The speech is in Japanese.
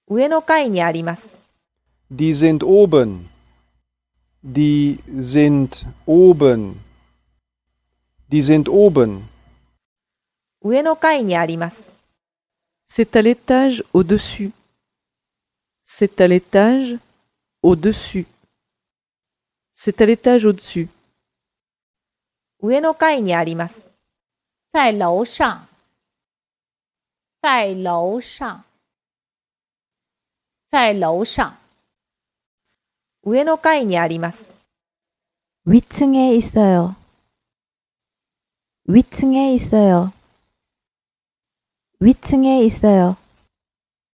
上の階にあります。 Die sind oben. Die sind oben. Die sind oben. 上の階にあります。 C'est à l'étage au-dessus. C'est à l'étage au-dessus. C'est à l'étage au-dessus. 上の階にあります。 在楼上，在楼上，在楼上。 上の階にあります。 위층에 있어요. 위층에 있어요. 위층에 있어요.